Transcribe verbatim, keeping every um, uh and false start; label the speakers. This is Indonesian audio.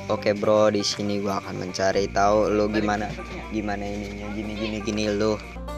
Speaker 1: Oke bro, di sini gua akan mencari tahu lu gimana gimana ininya gini gini gini lu.